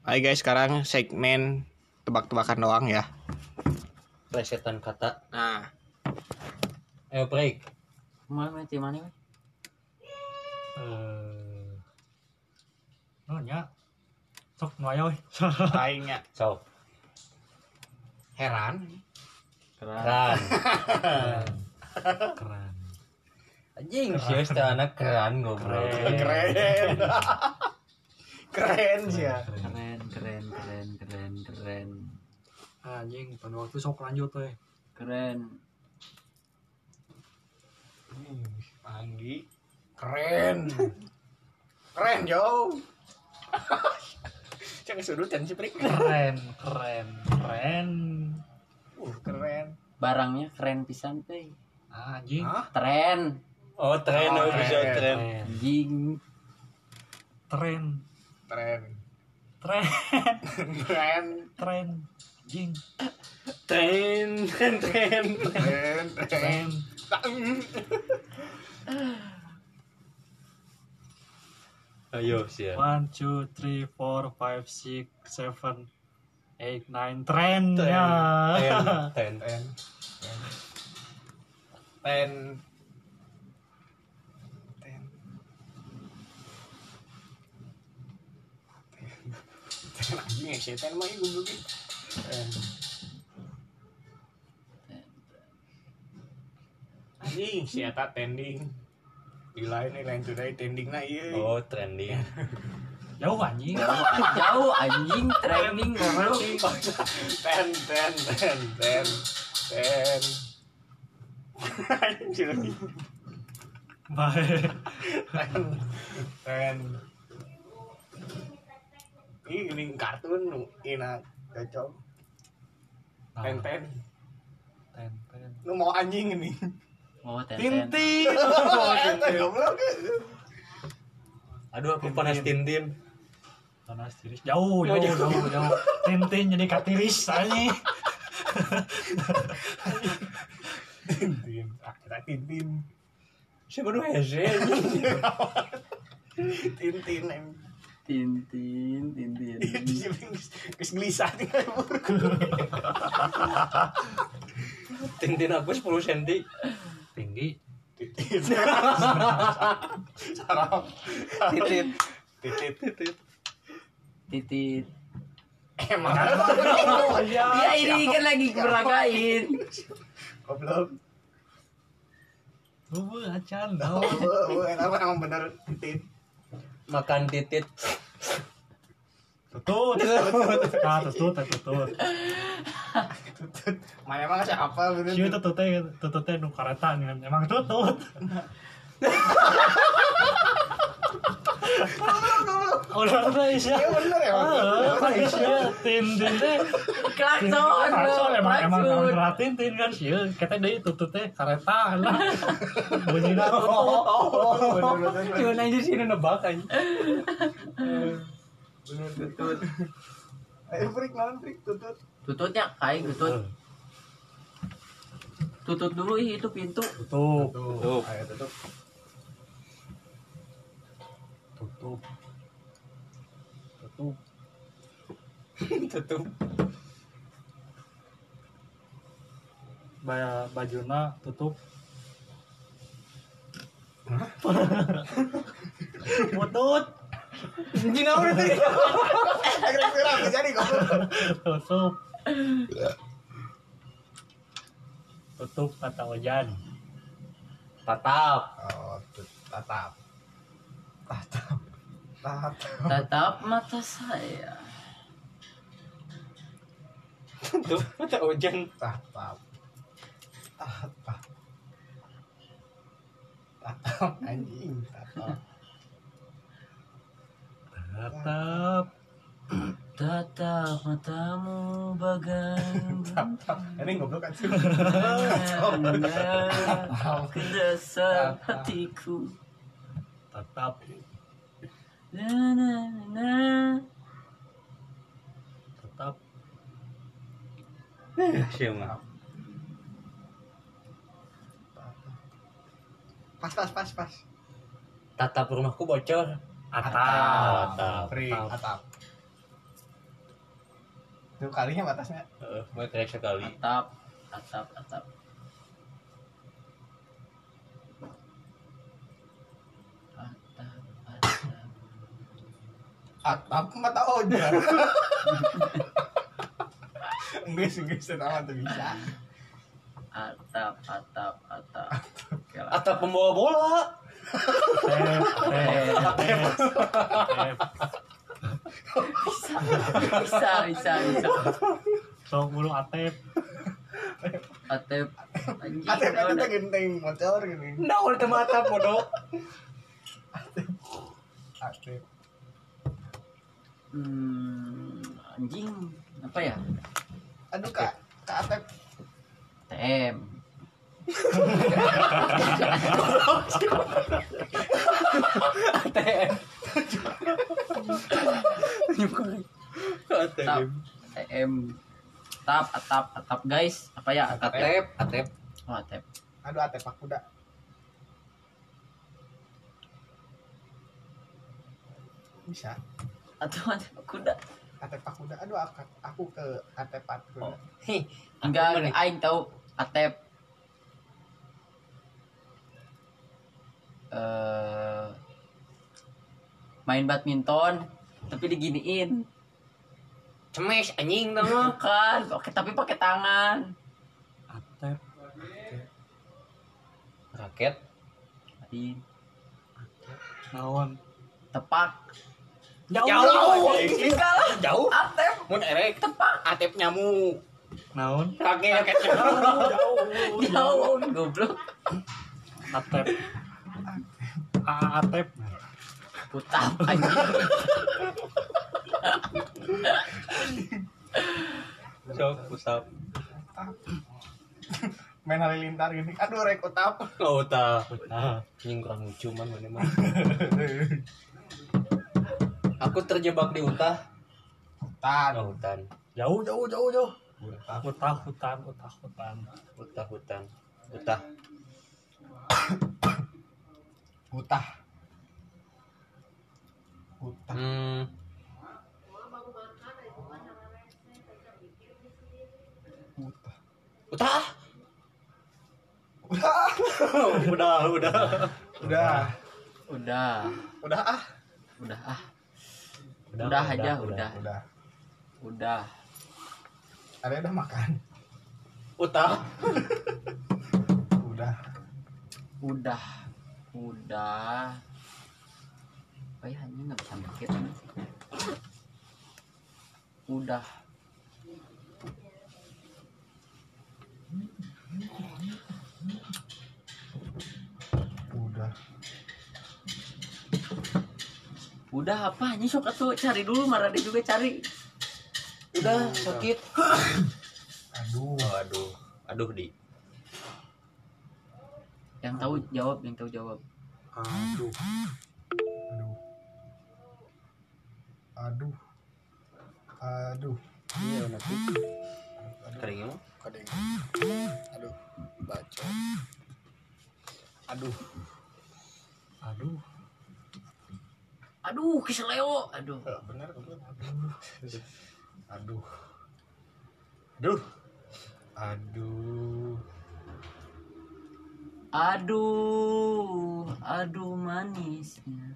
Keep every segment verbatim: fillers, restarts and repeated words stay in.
Hai guys, sekarang segmen tebak-tebakan doang ya. Plesetan kata. Nah, Ayo break. Mana mah mana mah? Eh, oh nya, sok nuaya we. aingnya So, heran. keran. Keren. Anjing, sih anak keran ngobrol. Keren. Keren sih ya. Keren, keren, keren, keren, keren, Anjing, pada waktu sok lanjut we. keren. Anggi. Keren. Keren, Jo. Jangan sudutan sih, Prik. Keren, keren, keren. Uh, keren. Barangnya keren pisan teh. Anjing. Hah? Tren, Oh, tren, Oh, oh, bisa tren. tren. anjing, Tren, Tren. tren, Tren. tren. Anjing, Tren, tren, tren. Tren. Tren. tren. Ayo, sih. One, two, three, four, five, six, seven, eight, nine. Tren ya. Ten, ten. Ten. Ten. Ten. Ten anjing ya, setan mah ieu goblok. Ten. Anjing, si eta tending. Di lain nih lain today tending na ieu. Oh, trending. Jauh anjing. jauh, jauh anjing, trending goblok. Ten, ten, ten, ten, ten. Anjing lagi. Baik. Ten, ten. Ih, ini kartun nu ina cocok. Ten, ten. Ten, ten. Lu mau anjing ini. Oh, tenten. Tintin. Eta goblok. Aduh, aku panas tintin. Panas tiris. Jauh, jauh, jauh, jauh. Tintin jadi katiris anjing. Tintin. Ah, kita Tintin. Siapa nu hese? Tintin em. Tintin, tintin. Geus gelisah tinggal. Tintin aku sepuluh senti. Tinggi. Titit. Sarap. Titit. Titit. Titit. Titit. Emang. Ya ini kan lagi beragain. Goblok. Lu acan. Oh, oh, emang emang bener titit. Makan titit. Tutut. Ah, tutut, tutut. Tutut. Mana emang siapa bener? Sieu tutut teh, tutut teh nu kareta emang tutut. Udah udah Isya. Iya bener ya. Ah, Isya Tintin teh. Klakson, Klakson emang emang emang klakson. gerak Tintin kan sieu. Kita deui tutut teh kareta lah. Bunyinya tutut. Oh, bener bener. Cuma aja sih nebak aja. Bener tutut. Ayo Prik, naon Prik tutut. Tututnya kayak tutut. Tutut dulu ih, itu pintu. Tutup. Tutup. Ayo tutup. Tutup. Tutup. Tutup. Baya bajuna tutup. Putut. Gina udah tadi. Kira-kira apa jadi goblok. Tutup. Tutup kata hujan. Tatap. Oh, tut- tatap. Tatap. Tatap. Tatap mata saya. Tuh, mata hujan. Tatap. Tatap. Tatap anjing, tatap. Tatap. Tatap matamu bagai Tatap. Ini goblok kan. ke dasar hatiku. Tatap. Na na na. Tatap. Siapa? Pas pas pas pas. Tatap rumahku bocor. Atap. Atap. Prik, Atap. atap. Tuh kalinya batasnya. Heeh, mau kayak sekali. Atap, atap, atap. Atap, atap. Atap mata ojar. Enggak sih, enggak sama tuh bisa. Atap, atap, atap. Oke lah. Atap pembawa bola. Tep, tep, tep, tep. Bisa, bisa, bisa. Sok mulu atep. Atep. Anjing. Atap itu udah. teh genteng motor gini. Nah, udah mata bodoh. Atap. Hmm, anjing. Apa ya? Aduh kak, kak atap. T M. A T M. Atap. T M. Atap, atap, atap guys. Apa ya? Atap. Atep, atep. Oh, atap. Aduh atap pak kuda. Bisa. Atau atap kuda. Atap pak kuda. Aduh aku, aku ke atap pak kuda. Hih, Enggak, nih? aing tahu atep. Eh main badminton tapi diginiin. Cemes anjing dong. Bukan, oke tapi pakai tangan. Atep. Raket. Di Naon. tepak. Jauh. Enggak lah. Jauh. Atep, Mun erek tepak. atep nyamuk. Naon. Raket raketnya jauh. Jauh, goblok. Atep. A atep. Putap anjing. Sok pusap. Main halilintar gini. Aduh rek utap. Oh, tah. Nah, Anjing kurang lucu man mana mah. Aku terjebak di utah. Hutan. Oh, hutan. jauh jauh jauh jauh. Utah. Utah hutan, utah hutan. Utah hutan. Utah. Utah. Utah. Hmm. Utah. Utah. Udah. udah, udah. Udah. Udah, Udah ah. udah ah. Udah aja, udah. Udah. Udah. Ada udah makan. Utah. Udah. Udah. Udah. Apa ya anjing enggak bisa mikir. Udah. Udah. Udah apa anjing sok atuh cari dulu marah dia juga cari. Udah sakit. Aduh. Oh, aduh. Aduh, Di. Yang tahu jawab, yang tahu jawab. Aduh. Aduh. Aduh. Aduh. Iya, nanti. Keringnya mah. Kadang. Aduh. Baca. Aduh. Aduh. Aduh, keseleo. Aduh. Benar benar. Aduh. Aduh. Aduh. Aduh. Aduh manisnya.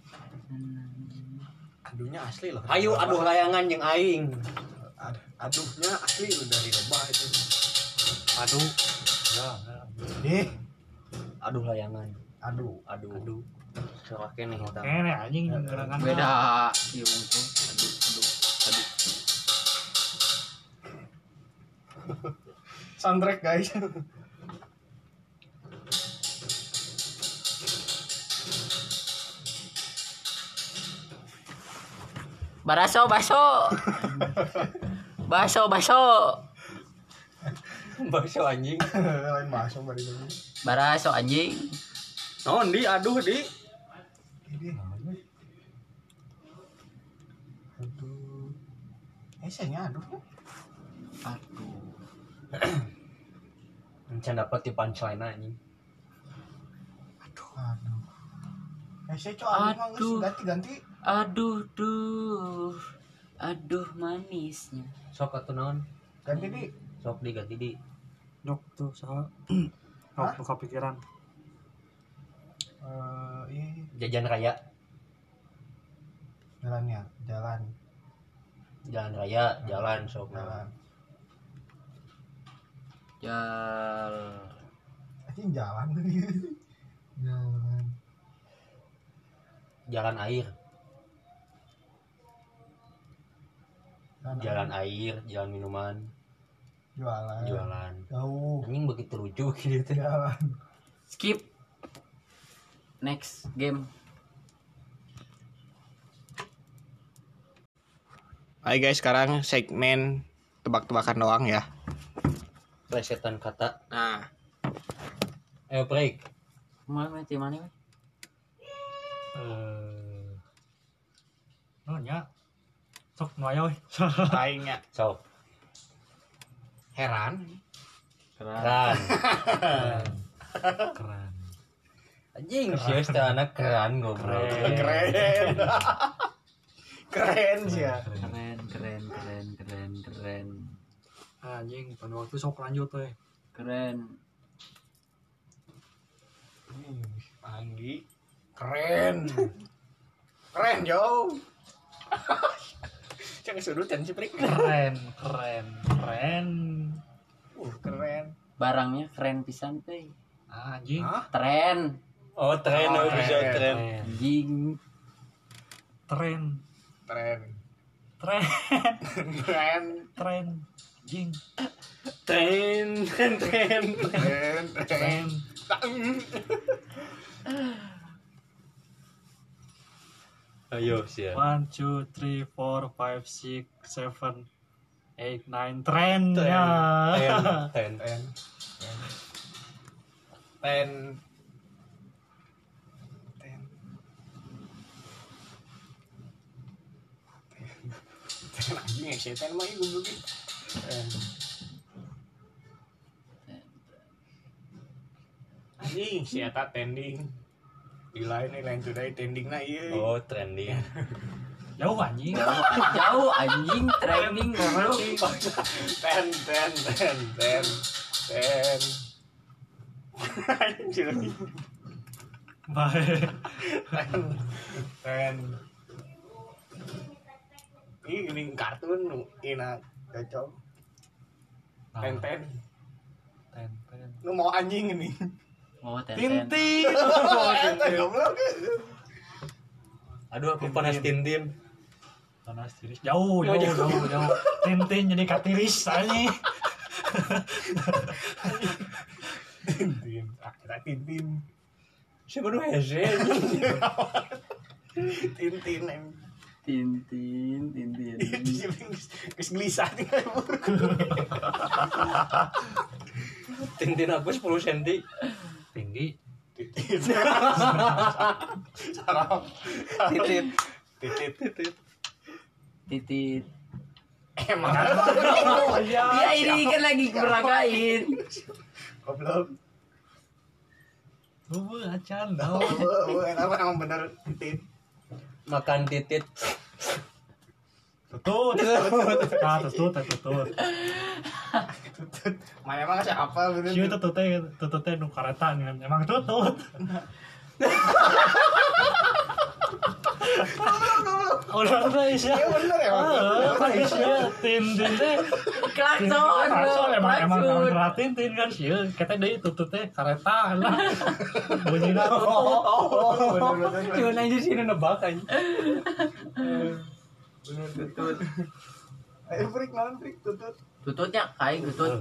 Aduhnya asli loh. Ayo aduh layangan yang aing. Ad- aduhnya asli loh dari rebah itu. Aduh. Ya, ya. Eh. Aduh layangan. Aduh. Aduh. Aduh. Celaka nih kita. Kene anjing gerangan. Beda. Iya untung. Aduh, aduh, aduh. Soundtrack guys. Baraso, baso. Baso, baso. Bakso anjing. Lain masuk bari dulu. Baraso anjing. Naon di aduh di. Ini namanya. Aduh. Eh saya aduh. Aduh. Encan dapat di punchline anjing. Aduh. Aduh. Eh saya coba aduh mah geus Aduh. ganti-ganti. Aduh, duh. Aduh manisnya. Sok atuh naon? Ganti di. Sok diganti di. Dok tuh saha. Hah? Dok kepikiran. Eh, ini Jajan raya. jalannya, jalan, Jalan raya, jalan sok jalan. Jal. Anjing jalan. Jalan. Jalan air. Jalan. Jalan air, jalan minuman, Jualan. jualan. Jauh. Anjing begitu lucu gitu. Jalan. Skip. Next game. Hai guys, sekarang segmen tebak-tebakan doang ya. Plesetan kata. Nah, Ayo break. Mana mana mana mana. Eh. Oh nya. Sok nu aya we. aingnya Sok. heran. Keran. Keren. Anjing sieus teh anak keran goblok. Keren. Keren sih ya. Keren keren keren keren keren Anjing, pada waktu sok lanjut we. keren. Anggi. Keren. Keren, Jo. Jangan sudutan sih, Prik. Keren, keren, keren. Uh, keren. Barangnya keren pisan teh. Anjing. Hah? Tren. Oh, tren Oh, oh, bisa tren. tren. Anjing. Tren. Tren. Tren. Tren. Tren. Jing. Tren, tren, tren. Tren. Tren. Tren. Ayo sih. One, two, three, four, five, six, seven, eight, nine. Tren Tren. ya. Tren, tren. Tren. Tren. Tren. Tren anjing ya, setan mah ibu gue. Tren. Anjing, si eta tending. Di lain nih lain today tending na ieu. Oh, trending. Jauh anjing. Jauh, jauh anjing trending goblok. Ten ten ten ten ten. Anjing. Baik. Ten ten. Ini gini kartun nu ina cocok. Ten ten. Ten, ten. Nu mau anjing ini. Oh, ten-ten. Tintin. Eta goblok. Aduh, aku panas Tintin. Panas tiris. Jauh, jauh, jauh, jauh. Tintin jadi katiris anjing. Tintin. Ah, kita Tintin. Siapa nu hese? Tintin em. Tintin, tintin. Geus gelisah tinggal. Tintin aku sepuluh senti. Tinggi. Titit. Sarap. Titit. Titit. Titit. Titit. Emang. Ya ini kan lagi beragain. Goblok. Oh, acan. Oh, oh, kenapa emang bener titit? Makan titit. Tutut. Ah, tutut, tutut. Tutut. Mana emang siapa bener? Sieu tutut teh, tutut teh nu kareta nih. Emang tutut. Udah udah Isya. Iya bener ya, Bang. Ah, Isya. Tintin teh. Klakson. Klakson emang emang emang klakson. gerak tintin kan sieu. Kita deui tutut teh kareta lah. Bunyinya tutut. Oh, bener bener. Cuma aja sih nebak aja. Bener tutut. Ayo Frik, naon Frik tutut? Tututnya kayak tutut.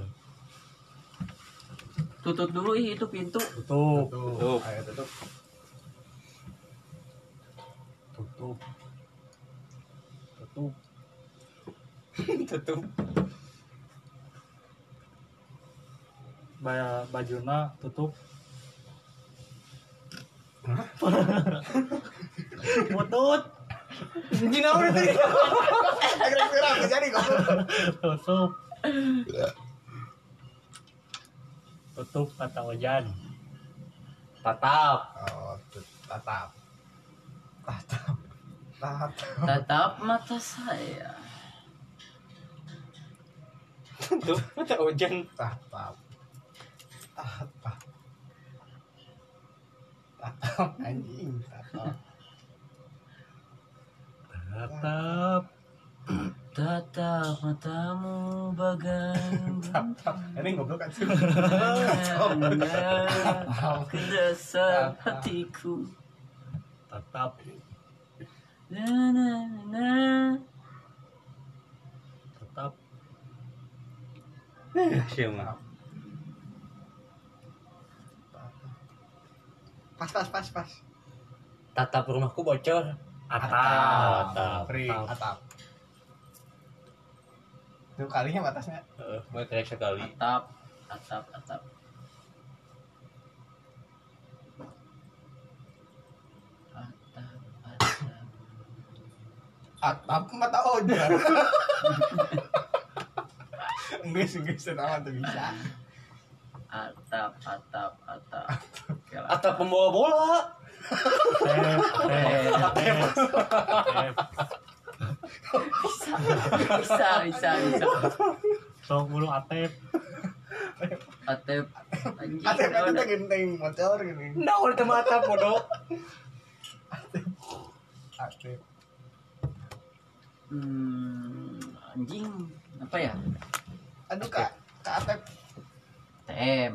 Tutut dulu ih itu pintu. Tutup. Tutup. Ayo tutup. Tutup. Tutup. Tutup. Baya bajuna tutup. Putut. Jina udah tadi. Kira-kira apa jadi goblok? Tutup. Tutup kata wajan. Tatap. Oh, tut- tatap. Tatap. Tatap. Tatap mata saya. Tuh, mata hujan. Tatap. Tatap. Tatap anjing. Tatap. Tatap. Tatap matamu bagai Tatap. Ini goblok kan sih. ke dasar hatiku. Tatap. Na na na. Tatap. Siapa? Pas pas pas pas. Tatap rumahku bocor. Atap. Atap. Free. Atap. Itu kalinya batasnya. Heeh, gue kayak sekali. Atap, atap, atap. Atap, atap. Atap mata ojan. Enggak sih, enggak senang tuh bisa. Atap, atap, atap. Oke lah. Atap pembawa bola. Tep. Tep. Tep. Tep. Bisa, bisa, bisa, bisa. Sok bulu atep. Atep. Anjing. Atap udah, itu udah. genteng motor gini. Nah, udah sama atap bodoh. Atap. Hmm, anjing. Apa ya? Aduh kak, kak Atap. T M.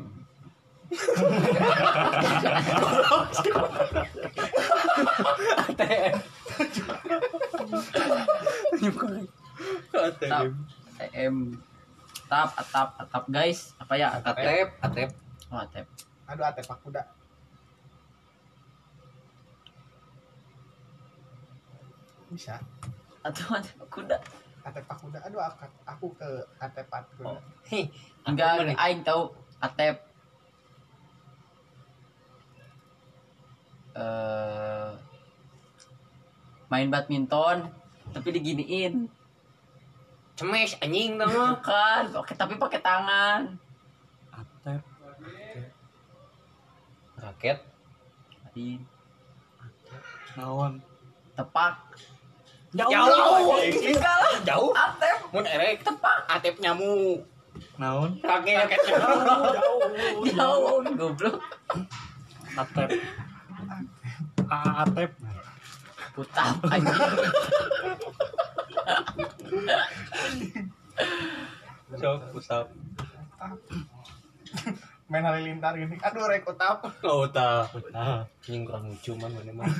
A T M. Tap, T M. Tap, atap, atap guys. Apa ya? Atap. Atep, atep. Oh, atap. Aduh Atap aku udah. Bisa. Atau atap kuda. Atap aku udah. Aduh aku, aku ke Atap aku. Oh. Hih, Enggak, aku mana? aing tahu atep. Eh main badminton tapi diginiin. Cemes anjing tau mah. Kan, oke tapi pakai tangan. Atep. Raket. Di Naon. tepak. Jauh. Enggak lah. Jauh. Atep Mun erek tepak. atep nyamuk. Naon. Raket raketnya jauh. Jauh, goblok. Atep. A- Atep. Putap anjing. Sok usap. Main halilintar gini. Aduh rek Atap. Oh, tah. Nah. Anjing kurang lucu man mana mah.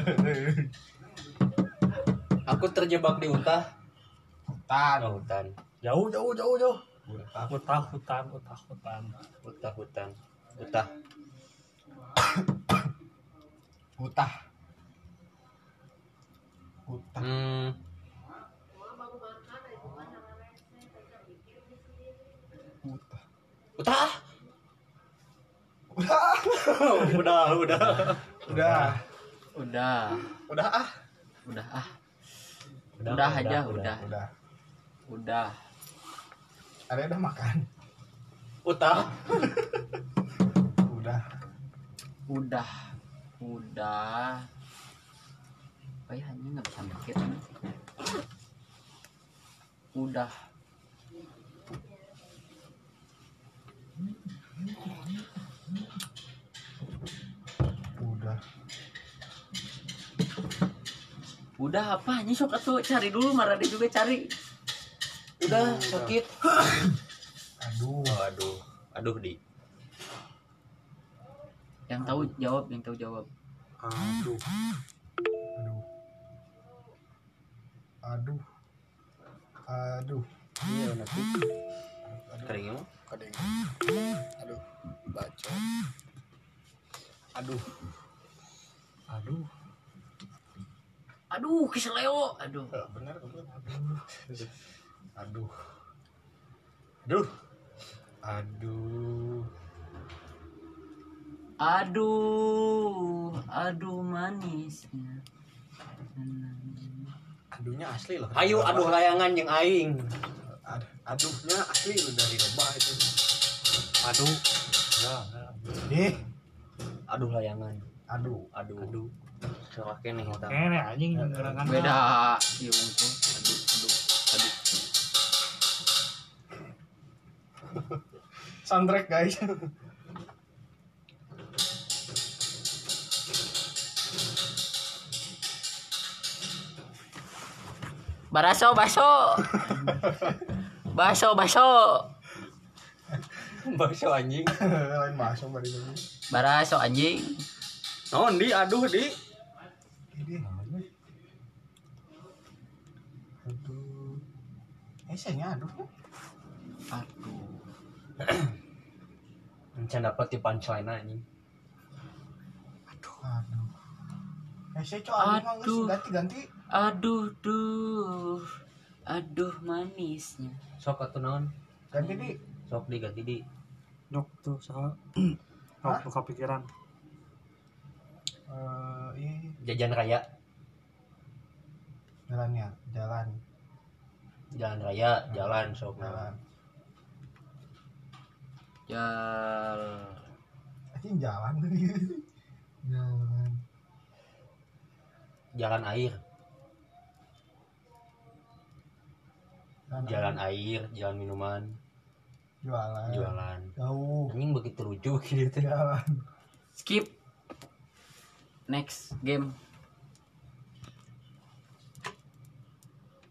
Aku terjebak di utah. Hutan. Oh, hutan. Jauh jauh jauh jauh. Hutan. Utah hutan utah hutan. Utah hutan. Utah. Hutah. Hutah. Hmm. Hutah. Utah. Udah. udah, udah. Udah. Udah, Udah ah. udah ah. Udah aja, udah. Udah. Udah. Ada udah makan. Utah. Udah. Udah. Udah. Apa ya anjing enggak bisa mikir. Udah. Udah. Udah apa anjing sok atuh cari dulu marah dia juga cari. Udah sakit. Aduh. Oh, aduh. Aduh, Di. Yang tahu jawab, yang tahu jawab. Aduh. Aduh. Aduh. Aduh. Iya, nanti. Keringnya mah. Kadang. Aduh. Bacot. Aduh. Aduh. Aduh, keseleo. Aduh. Benar benar. Aduh. Aduh. Aduh. Aduh. Aduh manisnya. Aduhnya asli loh. Ayo aduh layangan yang aing. Ad- aduhnya asli loh dari lomba itu. Aduh. Ya, ya. Nih. Aduh layangan. Aduh. Aduh. Aduh. Soalnya nih kita. Kene anjing gerangan. Beda. Iya unggul. Aduh, aduh, aduh. Soundtrack guys. Baraso, baso. Baso, baso. Bakso anjing. Lain masuk bari dulu. Baraso anjing. Naon di aduh di. Ini namanya. Aduh. Eh saya aduh. Aduh. Encan dapat di punchline anjing. Aduh. Eh saya coba aduh mah geus ganti-ganti. Aduh, duh. Aduh manisnya. Sok atuh naon? Ganti di. Sok di ganti di. Nok tuh saha. Nok tuh kepikiran. Eh ini Jajan raya. jalannya, jalan, Jalan raya, jalan sok jalan. Jal. Anjing jalan tadi. Jalan. Jalan air. Jalan. Jalan air, jalan minuman, Jualan. jualan. Jauh. Anjing begitu lucu gitu. Jalan. Skip. Next game.